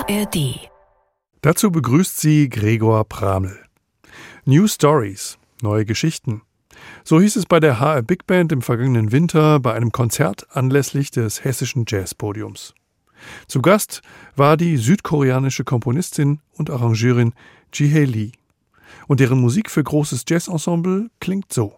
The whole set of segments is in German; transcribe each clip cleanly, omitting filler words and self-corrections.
ARD. Dazu begrüßt sie Gregor Praml. New Stories, neue Geschichten. So hieß es bei der HR Big Band im vergangenen Winter bei einem Konzert anlässlich des Hessischen Jazzpodiums. Zu Gast war die südkoreanische Komponistin und Arrangeurin Ji-Hae Lee. Und deren Musik für großes Jazzensemble klingt so.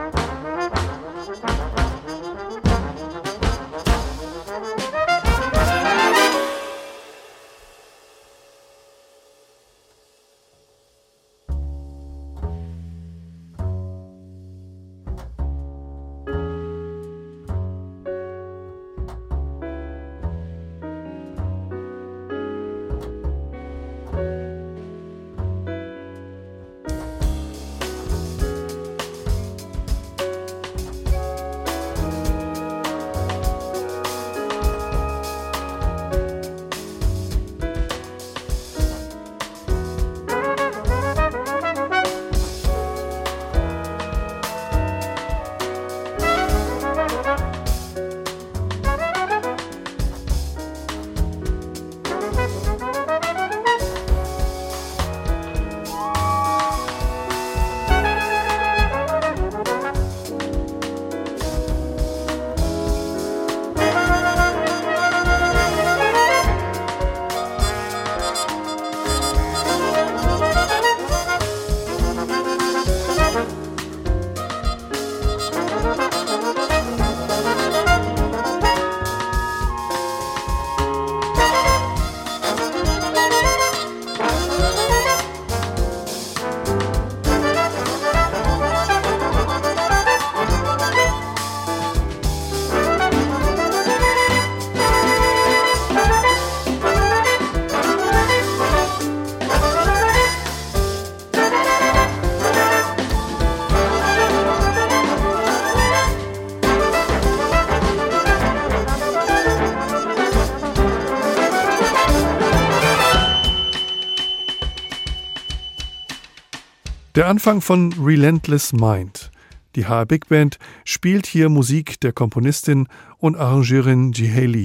Der Anfang von Relentless Mind. Die HR Big Band spielt hier Musik der Komponistin und Arrangeurin Ji-Hae Lee.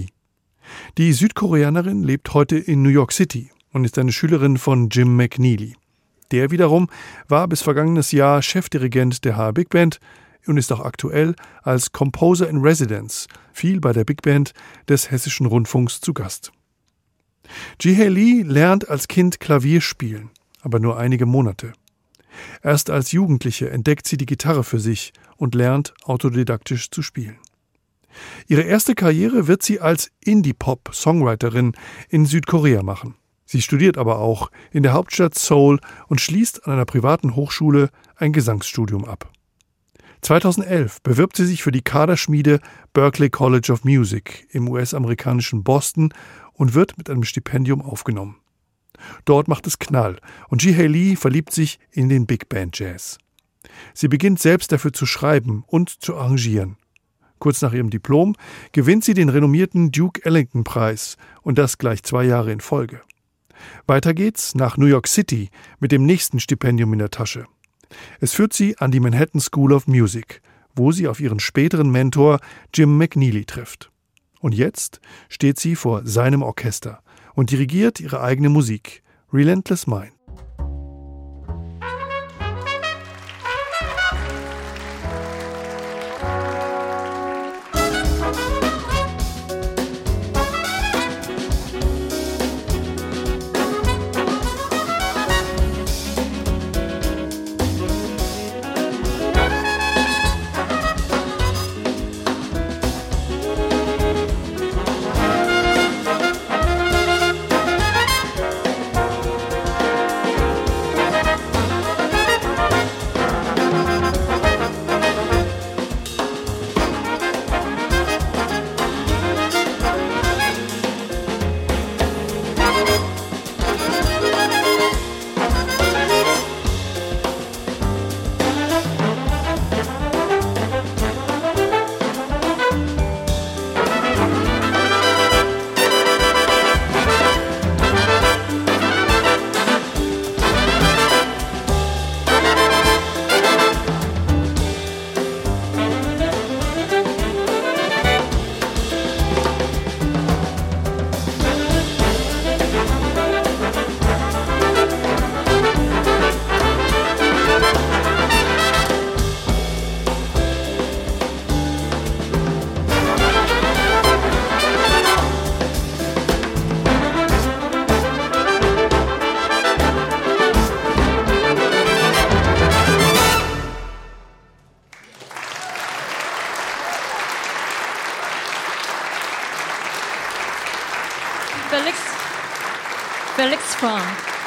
Die Südkoreanerin lebt heute in New York City und ist eine Schülerin von Jim McNeely. Der wiederum war bis vergangenes Jahr Chefdirigent der HR Big Band und ist auch aktuell als Composer in Residence viel bei der Big Band des Hessischen Rundfunks zu Gast. Ji-Hae Lee lernt als Kind Klavier spielen, aber nur einige Monate. Erst als Jugendliche entdeckt sie die Gitarre für sich und lernt autodidaktisch zu spielen. Ihre erste Karriere wird sie als Indie-Pop-Songwriterin in Südkorea machen. Sie studiert aber auch in der Hauptstadt Seoul und schließt an einer privaten Hochschule ein Gesangsstudium ab. 2011 bewirbt sie sich für die Kaderschmiede Berklee College of Music im US-amerikanischen Boston und wird mit einem Stipendium aufgenommen. Dort macht es Knall und Ji-Hae Lee verliebt sich in den Big Band Jazz. Sie beginnt selbst dafür zu schreiben und zu arrangieren. Kurz nach ihrem Diplom gewinnt sie den renommierten Duke Ellington Preis und das gleich 2 Jahre in Folge. Weiter geht's nach New York City mit dem nächsten Stipendium in der Tasche. Es führt sie an die Manhattan School of Music, wo sie auf ihren späteren Mentor Jim McNeely trifft. Und jetzt steht sie vor seinem Orchester und dirigiert ihre eigene Musik, Relentless Mind. Felix from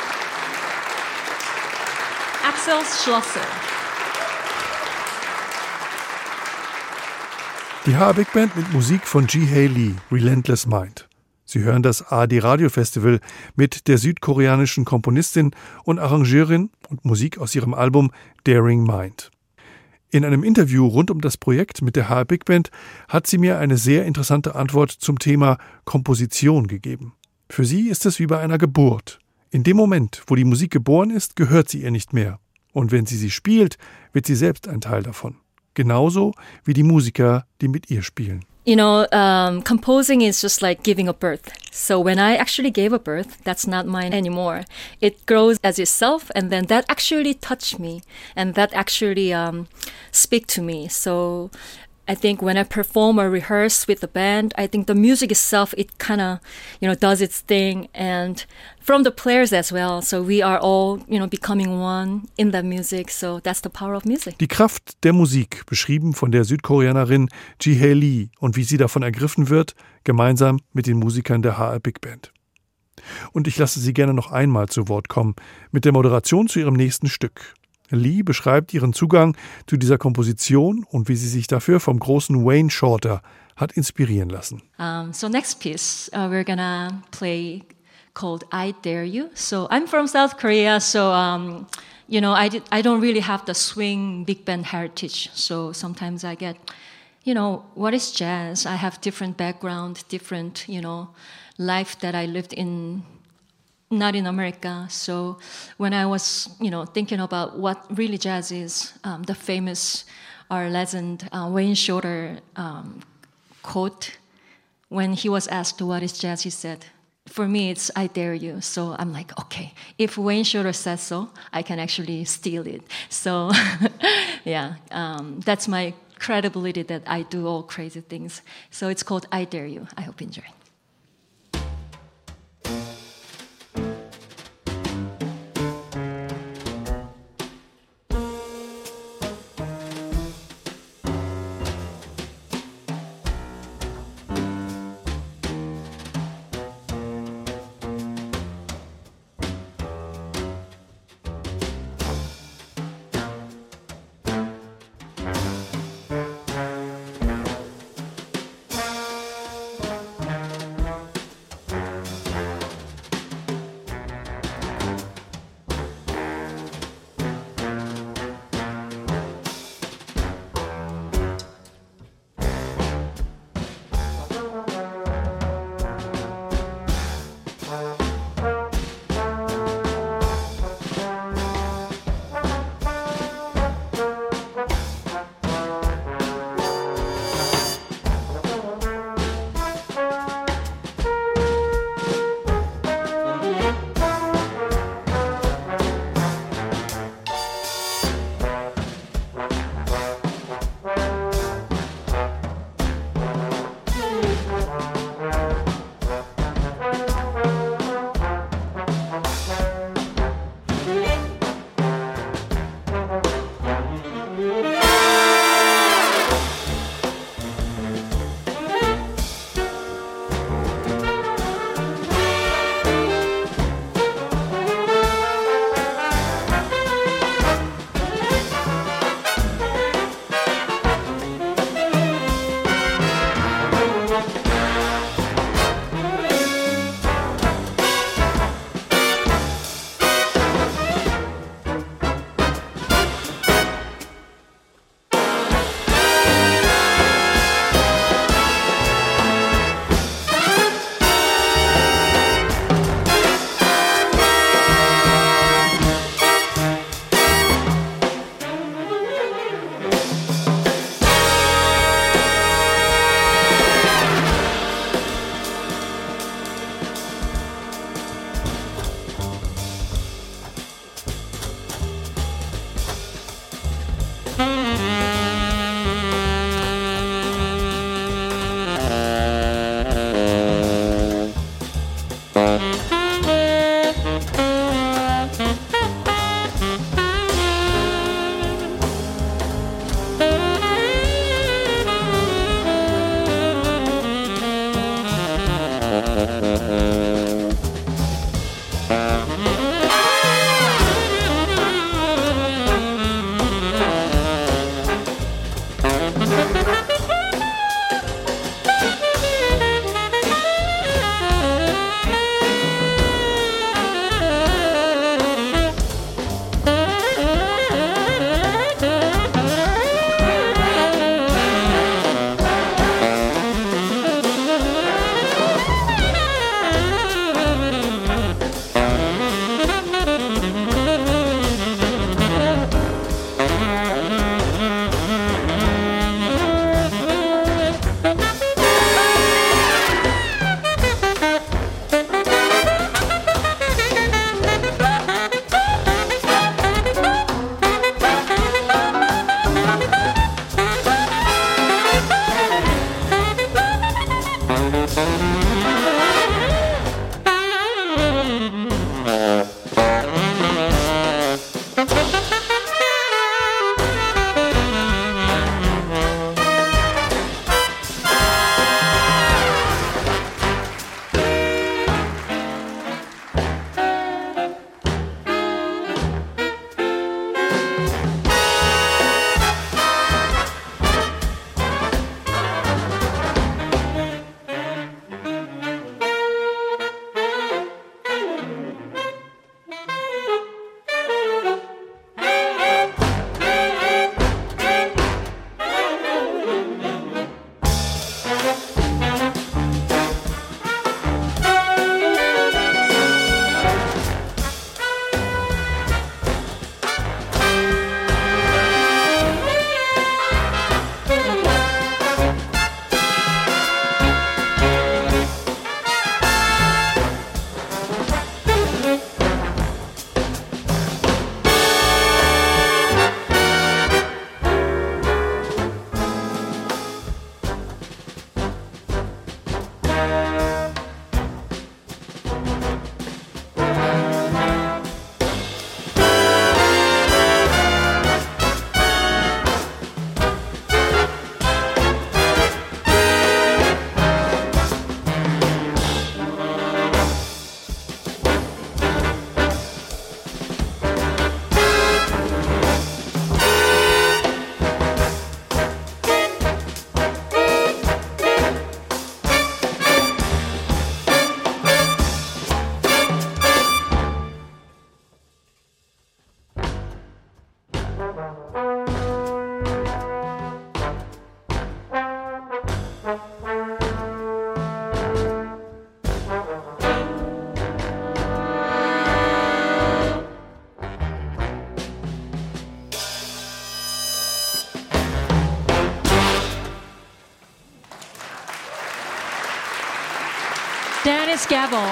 Axel Schlosser. Die HR Big Band mit Musik von Ji-Hae Lee, Relentless Mind. Sie hören das ARD Radio Festival mit der südkoreanischen Komponistin und Arrangeurin und Musik aus ihrem Album Daring Mind. In einem Interview rund um das Projekt mit der HR Big Band hat sie mir eine sehr interessante Antwort zum Thema Komposition gegeben. Für sie ist es wie bei einer Geburt. In dem Moment, wo die Musik geboren ist, gehört sie ihr nicht mehr. Und wenn sie spielt, wird sie selbst ein Teil davon. Genauso wie die Musiker, die mit ihr spielen. You know, composing is just like giving a birth. So when I actually gave a birth, that's not mine anymore. It grows as itself, and then that actually touched me, and that actually speak to me. So I think when I perform or rehearse with the band, I think the music itself, it kind of, does its thing. And from the players as well. So we are all, becoming one in the music. So that's the power of music. Die Kraft der Musik, beschrieben von der Südkoreanerin Ji-Hae Lee und wie sie davon ergriffen wird, gemeinsam mit den Musikern der HR Big Band. Und ich lasse sie gerne noch einmal zu Wort kommen, mit der Moderation zu ihrem nächsten Stück. Lee beschreibt ihren Zugang zu dieser Komposition und wie sie sich dafür vom großen Wayne Shorter hat inspirieren lassen. So next piece we're gonna play called I Dare You. So I'm from South Korea, so I don't really have the swing big band heritage. So sometimes I get, what is jazz? I have different background, different, life that I lived in. Not in America. So when I was, thinking about what really jazz is, the famous or legend Wayne Shorter quote, when he was asked what is jazz, he said, for me, it's I dare you. So I'm like, okay, if Wayne Shorter says so, I can actually steal it. So yeah, that's my credibility that I do all crazy things. So it's called I Dare You. I hope you enjoy it. Dennis Gabel.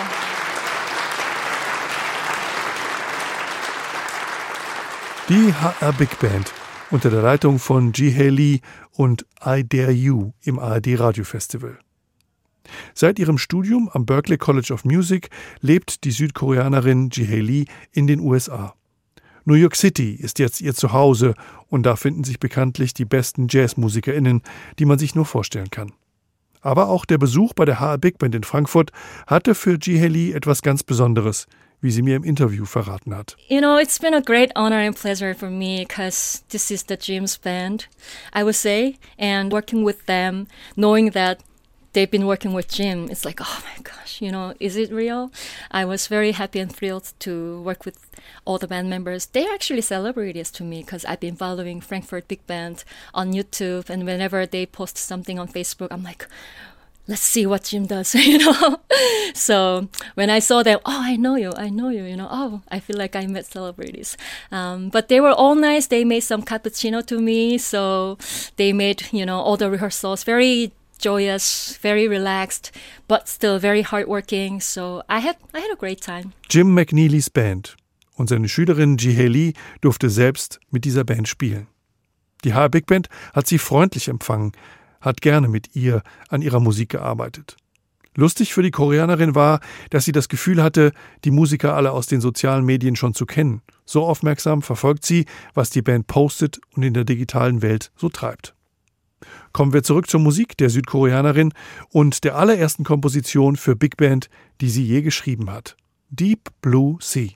Die HR Big Band unter der Leitung von Ji-Hae Lee und I Dare You im ARD Radiofestival. Seit ihrem Studium am Berklee College of Music lebt die Südkoreanerin Ji-Hae Lee in den USA. New York City ist jetzt ihr Zuhause und da finden sich bekanntlich die besten JazzmusikerInnen, die man sich nur vorstellen kann. Aber auch der Besuch bei der HR Big Band in Frankfurt hatte für Ji-Hae Lee etwas ganz Besonderes, wie sie mir im Interview verraten hat. You know, it's been a great honor and pleasure for me because this is the Jim's band, I would say, and working with them, knowing that they've been working with Jim, it's like, oh my gosh, you know, is it real? I was very happy and thrilled to work with all the band members. They're actually celebrities to me because I've been following Frankfurt Big Band on YouTube, and whenever they post something on Facebook, I'm like, let's see what Jim does, you know. So when I saw them, oh, I know you, you know, oh, I feel like I met celebrities. But they were all nice. They made some cappuccino to me. So they made, you know, all the rehearsals very joyous, very relaxed, but still very hardworking. So I had a great time. Jim McNeelys Band und seine Schülerin Ji-Hae Lee durfte selbst mit dieser Band spielen. Die HR Big Band hat sie freundlich empfangen, hat gerne mit ihr an ihrer Musik gearbeitet. Lustig für die Koreanerin war, dass sie das Gefühl hatte, die Musiker alle aus den sozialen Medien schon zu kennen. So aufmerksam verfolgt sie, was die Band postet und in der digitalen Welt so treibt. Kommen wir zurück zur Musik der Südkoreanerin und der allerersten Komposition für Big Band, die sie je geschrieben hat. Deep Blue Sea.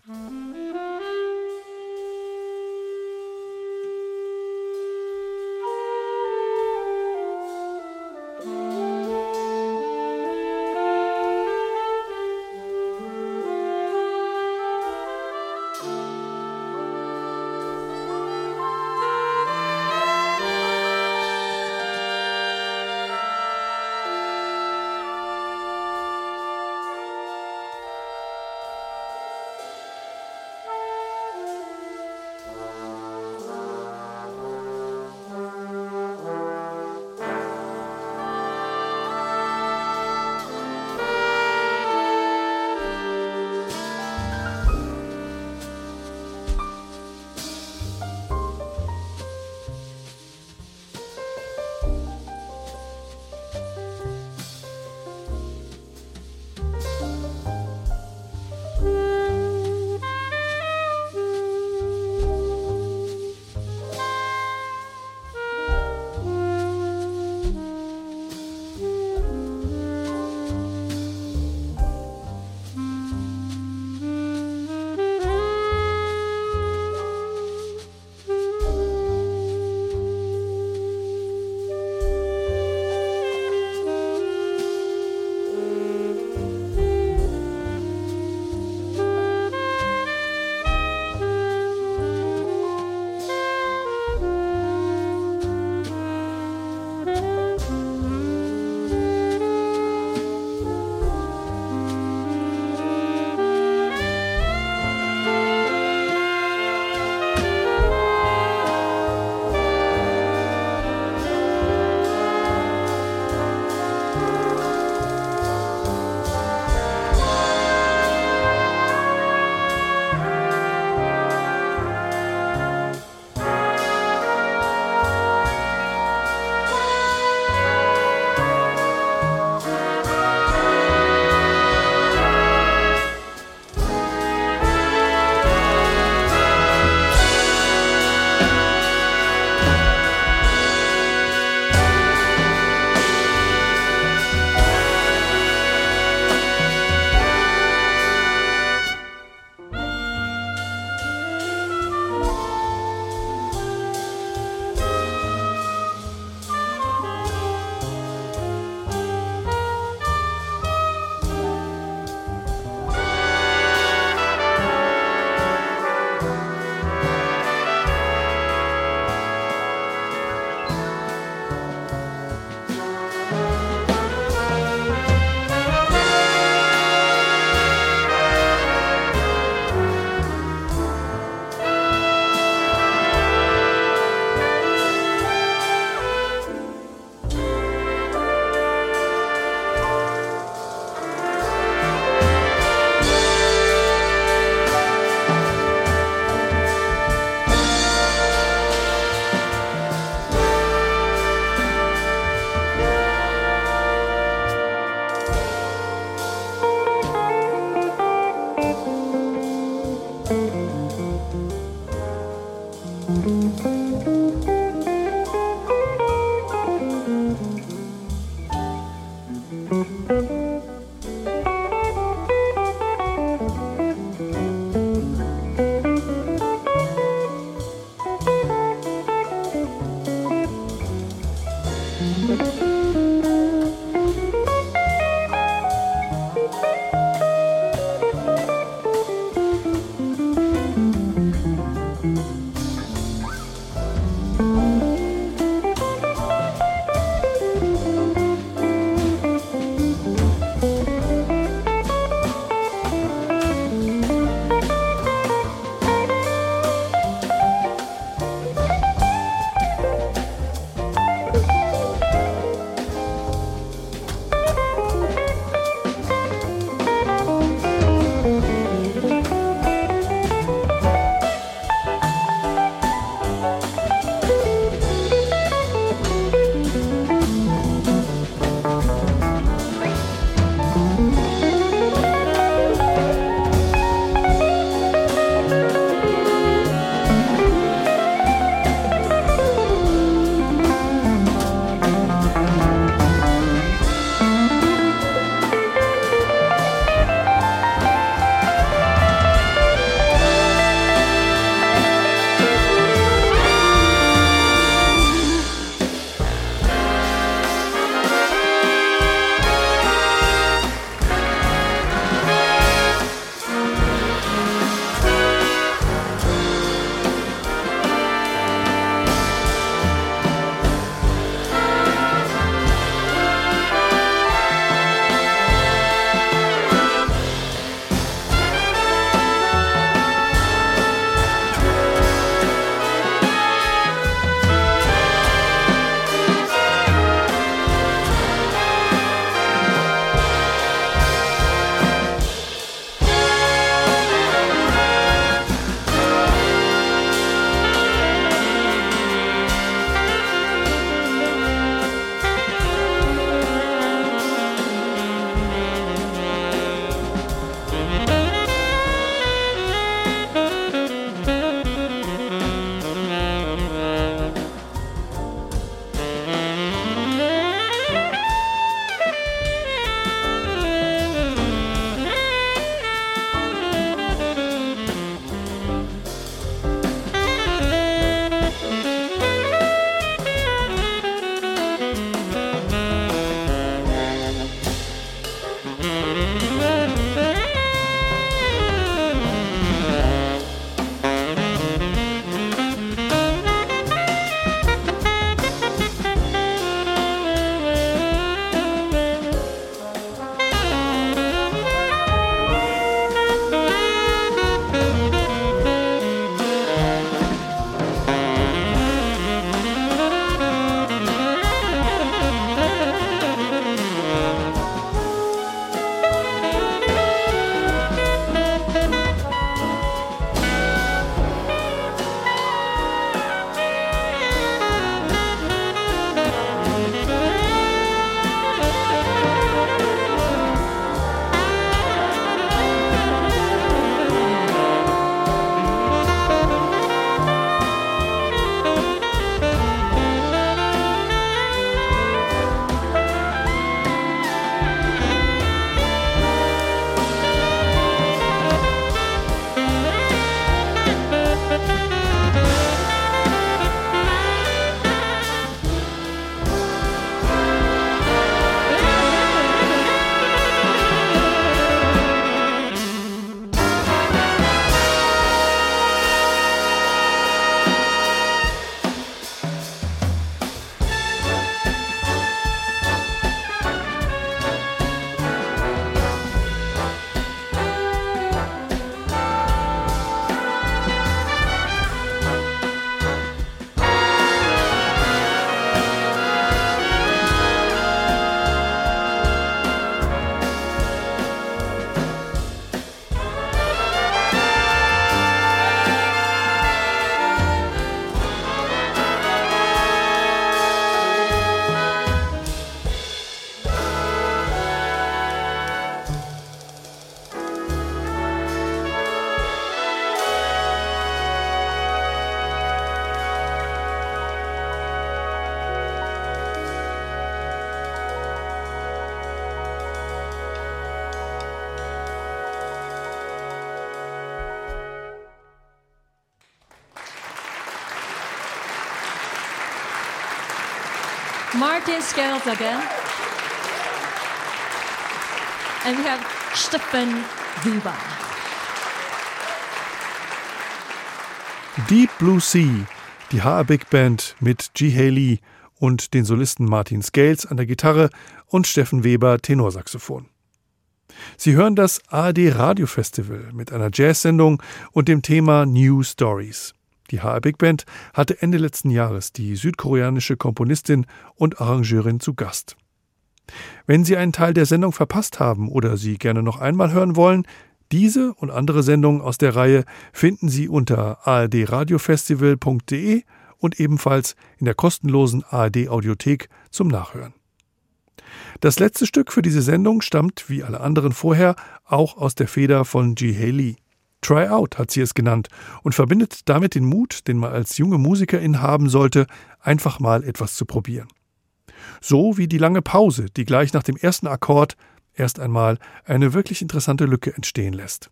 Martin Scales again. And we have Stefan Weber. Deep Blue Sea, die HR Big Band mit Ji-Hye Lee und den Solisten Martin Scales an der Gitarre und Steffen Weber Tenorsaxophon. Sie hören das ARD Radio Festival mit einer Jazz-Sendung und dem Thema New Stories. Die HR Big Band hatte Ende letzten Jahres die südkoreanische Komponistin und Arrangeurin zu Gast. Wenn Sie einen Teil der Sendung verpasst haben oder sie gerne noch einmal hören wollen, diese und andere Sendungen aus der Reihe finden Sie unter ardradiofestival.de und ebenfalls in der kostenlosen ARD Audiothek zum Nachhören. Das letzte Stück für diese Sendung stammt, wie alle anderen vorher, auch aus der Feder von Ji-Hye Lee. Try Out hat sie es genannt und verbindet damit den Mut, den man als junge Musikerin haben sollte, einfach mal etwas zu probieren. So wie die lange Pause, die gleich nach dem ersten Akkord erst einmal eine wirklich interessante Lücke entstehen lässt.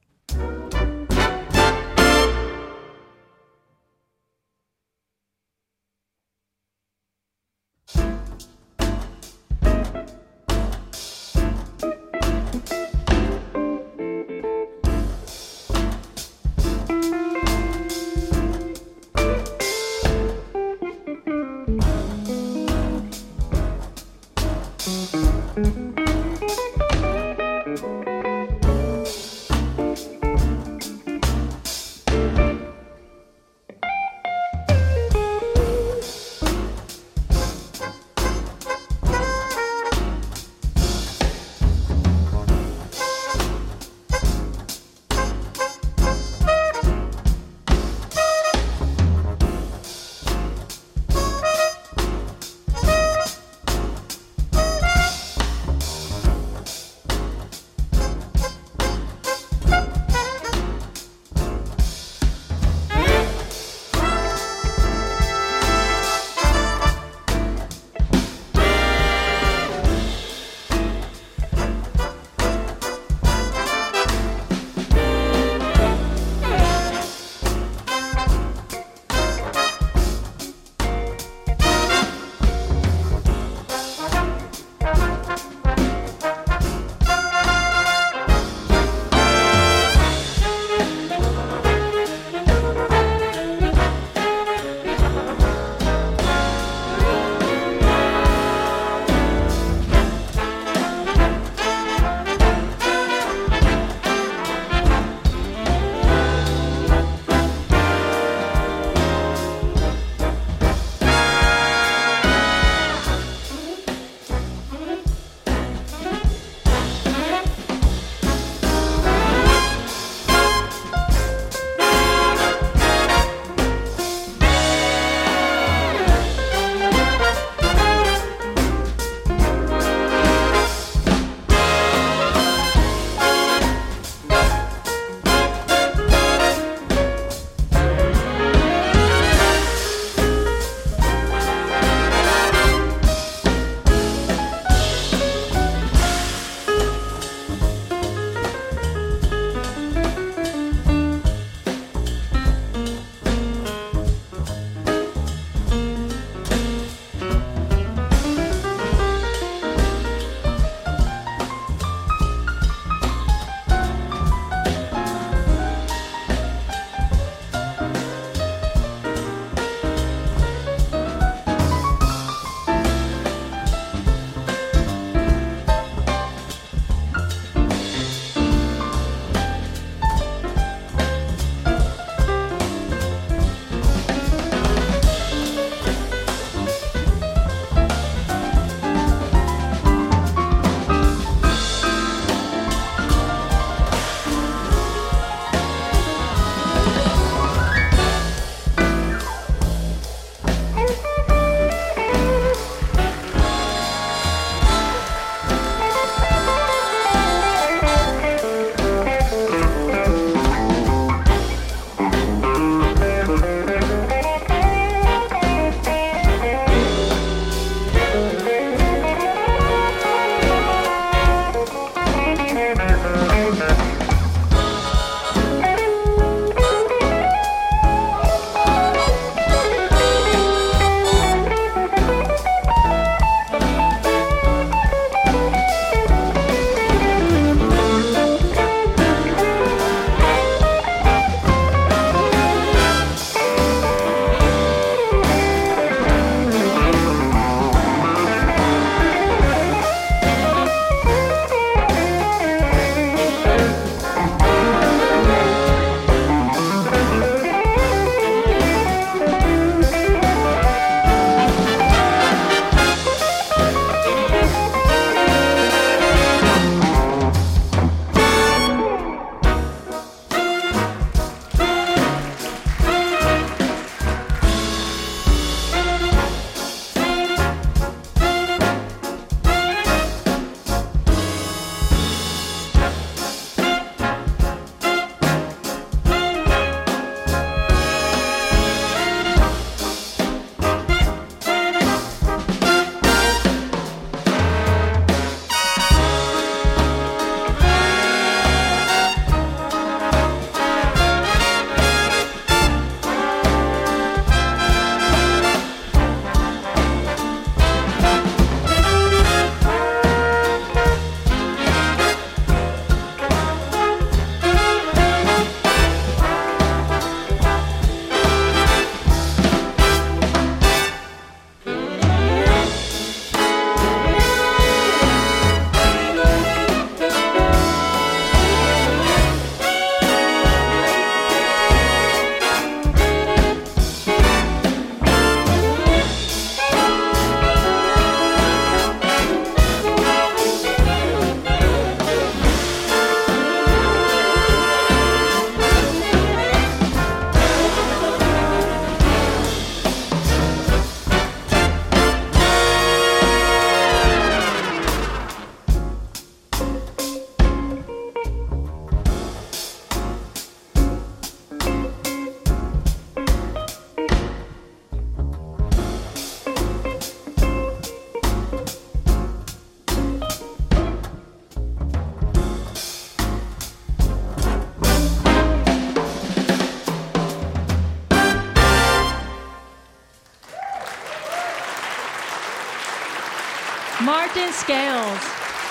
Martin Scales.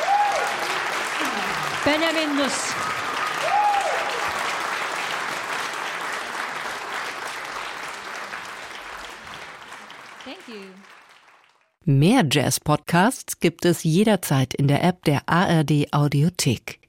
Benjamin Nuss. Thank you. Mehr Jazz-Podcasts gibt es jederzeit in der App der ARD Audiothek.